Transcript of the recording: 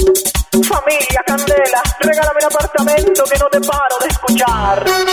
Familia Candela, regálame un apartamento que no te paro de escuchar.